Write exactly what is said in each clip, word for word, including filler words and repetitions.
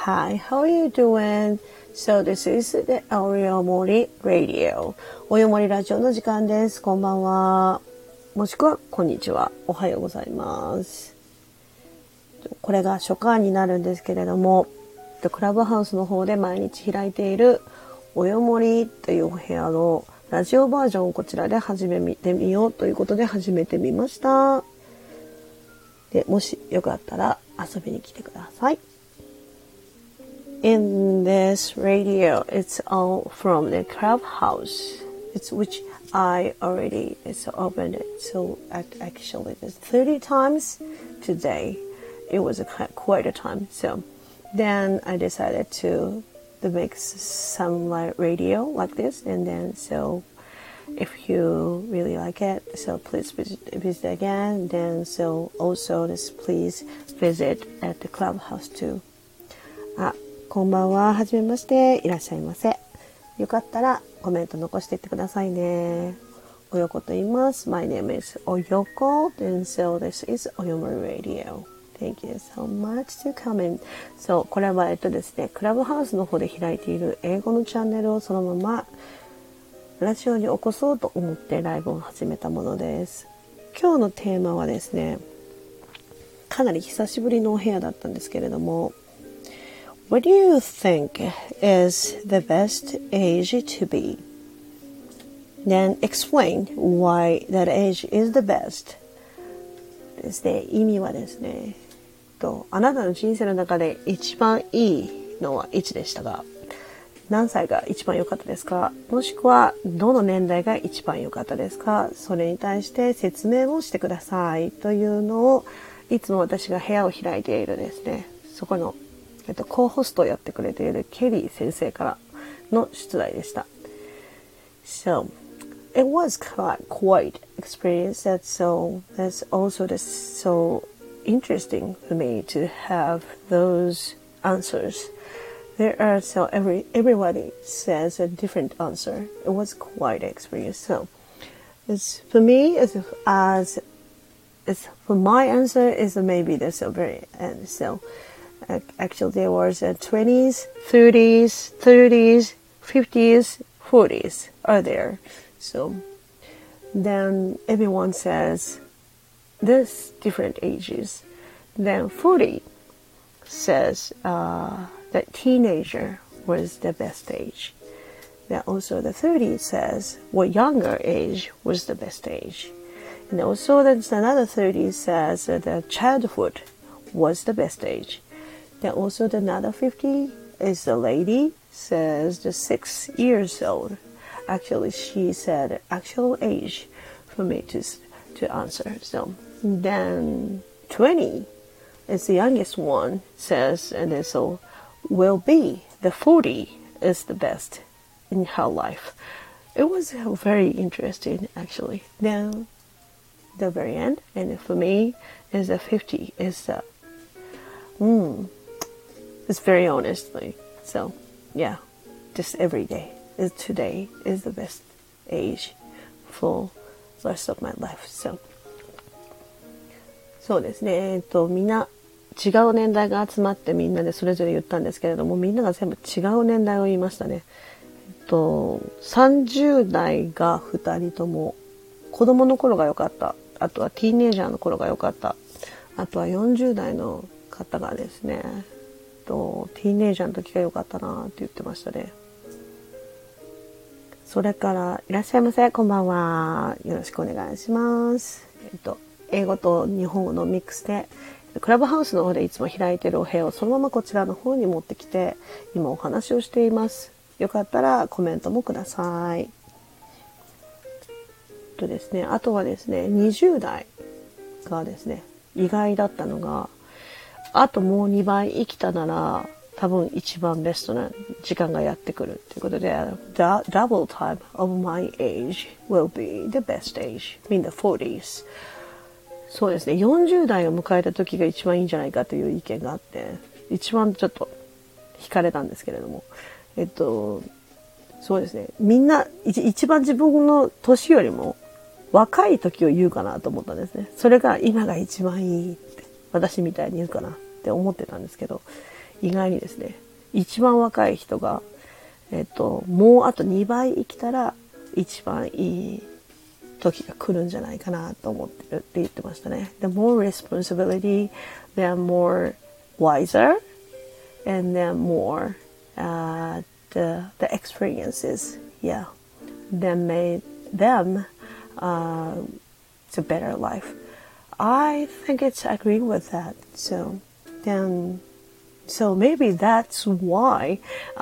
Hi, how are you doing? So this is the Oyomori Radio. およもりラジオの時間です。こんばんは。もしくはこんにちは。おはようございます。これが初回になるんですけれども、クラブハウスの方で毎日開いているおよもりというお部屋のラジオバージョンをこちらで始めてみようということで始めてみました。で、もしよかったら遊びに来てください。In this radio, it's all from the clubhouse. It's which I already it's opened it. So actually, it's thirty times today. It was a, quite a time. So then I decided to to make some like radio like this, and then so if you really like it, so please visit, visit again. Then so also this please visit at the clubhouse too. あ、こんばんは。はじめまして。いらっしゃいませ。よかったらコメント残していってくださいね。およこと言います。My name is Oyoko, and so this is Oyomori Radio.Thank you so much to come in. そう、これはえっとですね、クラブハウスの方で開いている英語のチャンネルをそのままラジオに起こそうと思ってライブを始めたものです。今日のテーマはですね、かなり久しぶりのお部屋だったんですけれども、What do you think is the best age to be? Then explain why that age is the best. ですね、意味はですね、とあなたの人生の中で一番いいのはいつでしたか？何歳が一番良かったですか？もしくはどの年代が一番良かったですか？それに対して説明をしてくださいというのをいつも私が部屋を開いているですね、そこの、えっと、コーホストをやってくれているケリー先生からの出題でした。So, it was quite, quite experience that so that's also the, so interesting for me to have those answers. There are so every everybody says a different answer. It was quite an experience. So it's for me as as as for my answer is maybe this very end. So uh, actually there was uh, twenties, thirties, thirties, fifties, forties are there. So then everyone says there's different ages. Then forty says uh, that teenager was the best age. Then also the thirty says what younger age was the best age. And also there's another thirty says that the childhood was the best age. Then also the another fifty is the lady says the six years old.Actually, she said actual age for me to to answer. So then twenty is the youngest one says, and then so will be the forty is the best in her life. It was very interesting actually. Then the very end, and for me is the fifty is the mm, it's very honestly. So yeah, just every day.Is today is the best age for the rest of my life. So そうですね。えっとみんな違う年代が集まってみんなでそれぞれ言ったんですけれども、みんなが全部違う年代を言いましたね。えっとさんじゅう代がふたりとも子供の頃が良かった。あとはティーンエイジャーの頃が良かった。あとはよんじゅう代の方がですね、えっとティーンエイジャーの時が良かったなって言ってましたね。それから、いらっしゃいませ。こんばんは。よろしくお願いします。えっと、英語と日本語のミックスで、クラブハウスの方でいつも開いているお部屋をそのままこちらの方に持ってきて、今お話をしています。よかったらコメントもください。えっとですね、あとはですね、にじゅう代がですね、意外だったのが、あともうにばい生きたなら、多分一番ベストな時間がやってくるということで、the double time of my age will be the best age in the forties。そうですね、よんじゅう代を迎えた時が一番いいんじゃないかという意見があって、一番ちょっと惹かれたんですけれども、えっと、そうですね、みんな一番自分の年よりも若い時を言うかなと思ったんですね。それが今が一番いいって私みたいに言うかなって思ってたんですけど、 意外にですね、一番若い人が、えっと、もうあとにばい生きたら一番いい時が来るんじゃないかなと思ってるって言ってましたね。The more responsibility, then more wiser, and then more uh, the, the experiences, yeah, that made them uh, it's a better life. I think it's agreeing with that. So then, so maybe that's why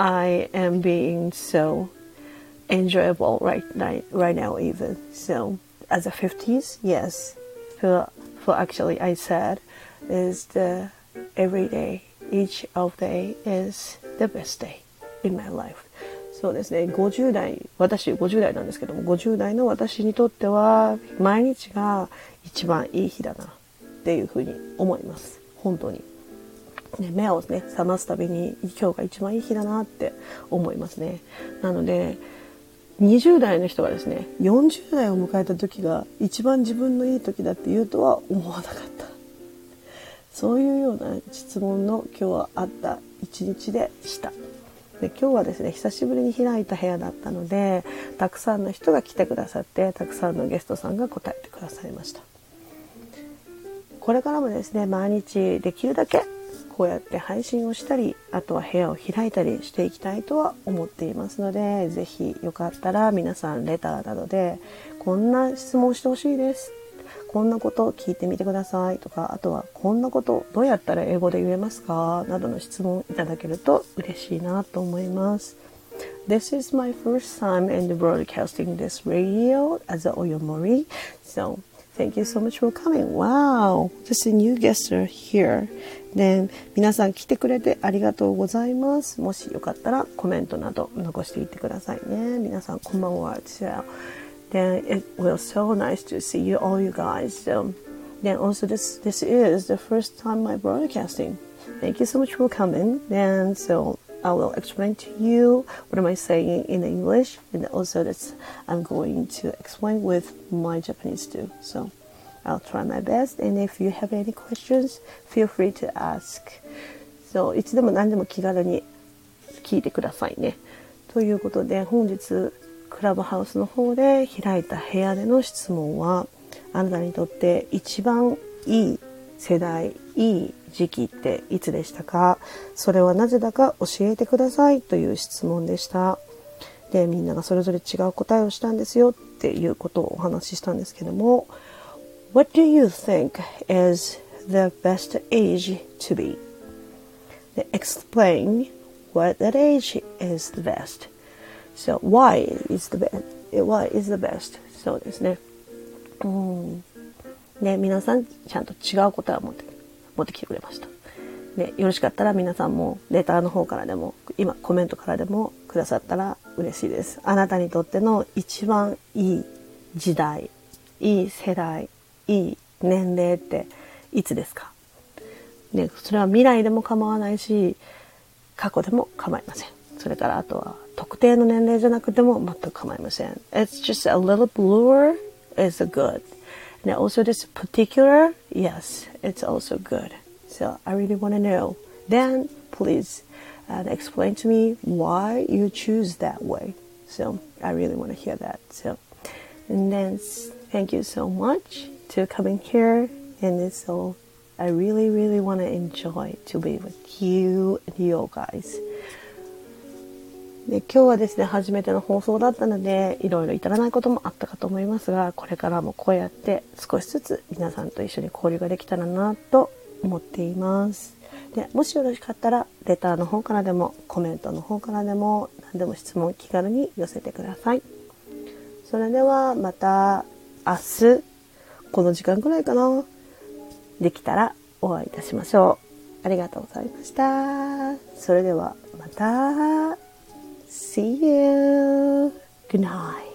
I am being so enjoyable right right, right now even. So as a fifties, yes, for, for actually I said is the every day, each of day is the best day in my life. そうですね、ごじゅう代、私ごじゅう代なんですけども、ごじゅう代の私にとっては毎日が一番いい日だなっていうふうに思います。本当に。ね、目をね、覚ますたびに今日が一番いい日だなって思いますね。なので、にじゅう代の人がですね、よんじゅう代を迎えた時が一番自分のいい時だって言うとは思わなかった。そういうような質問の今日はあった一日でした。で、今日はですね、久しぶりに開いた部屋だったので、たくさんの人が来てくださって、たくさんのゲストさんが答えてくださいました。これからもですね、毎日できるだけこうやって配信をしたり、あとは部屋を開いたりしていきたいとは思っていますので、ぜひよかったら皆さんレターなどでこんな質問してほしいです、こんなことを聞いてみてくださいとか、あとはこんなことどうやったら英語で言えますかなどの質問いただけると嬉しいなと思います。This is my first time in the broadcasting this radio as a Oyomori, so thank you so much for coming. Wow, just a new guest here. Then 皆さん来てくれてありがとうございます。もしよかったらコメントなど残していってくださいね。皆さんこんばんは。Then it was so nice to see you all, you guys. So, then also this this is the first time I'm broadcasting. Thank you so much for coming. Then so I will explain to you what am I saying in English, and also this I'm going to explain with my Japanese too. So I'll try my best. And if you have any questions, feel free to ask. So いつでも何でも気軽に聞いてくださいね。ということで本日クラブハウスの方で開いた部屋での質問は、あなたにとって一番いい世代、いい時期っていつでしたか？それはなぜだか教えてくださいという質問でした。で、みんながそれぞれ違う答えをしたんですよっていうことをお話ししたんですけども、What do you think is the best age to be? Explain what that age is the best.So why is the best? Why is the best? そうですね。うん。ね、皆さんちゃんと違う答えを持って持ってきてくれました。ね、よろしかったら皆さんもレターの方からでも、今コメントからでもくださったら嬉しいです。あなたにとっての一番いい時代、いい世代、いい年齢っていつですか？ね、それは未来でも構わないし、過去でも構いません。それからあとは特定の年齢じゃなくても全く構いません。It's just a little bluer is good. And also this particular, yes, it's also good. So I really want to know. Then please uh, explain to me why you choose that way. So I really want to hear that. So and then thank you so much to coming here. And so I really, really want to enjoy to be with you and you guys.で、今日はですね、初めての放送だったので、いろいろ至らないこともあったかと思いますが、これからもこうやって少しずつ皆さんと一緒に交流ができたらなと思っています。で、もしよろしかったら、レターの方からでも、コメントの方からでも、何でも質問気軽に寄せてください。それではまた明日、この時間くらいかな、できたらお会いいたしましょう。ありがとうございました。それではまた。See you. Good night.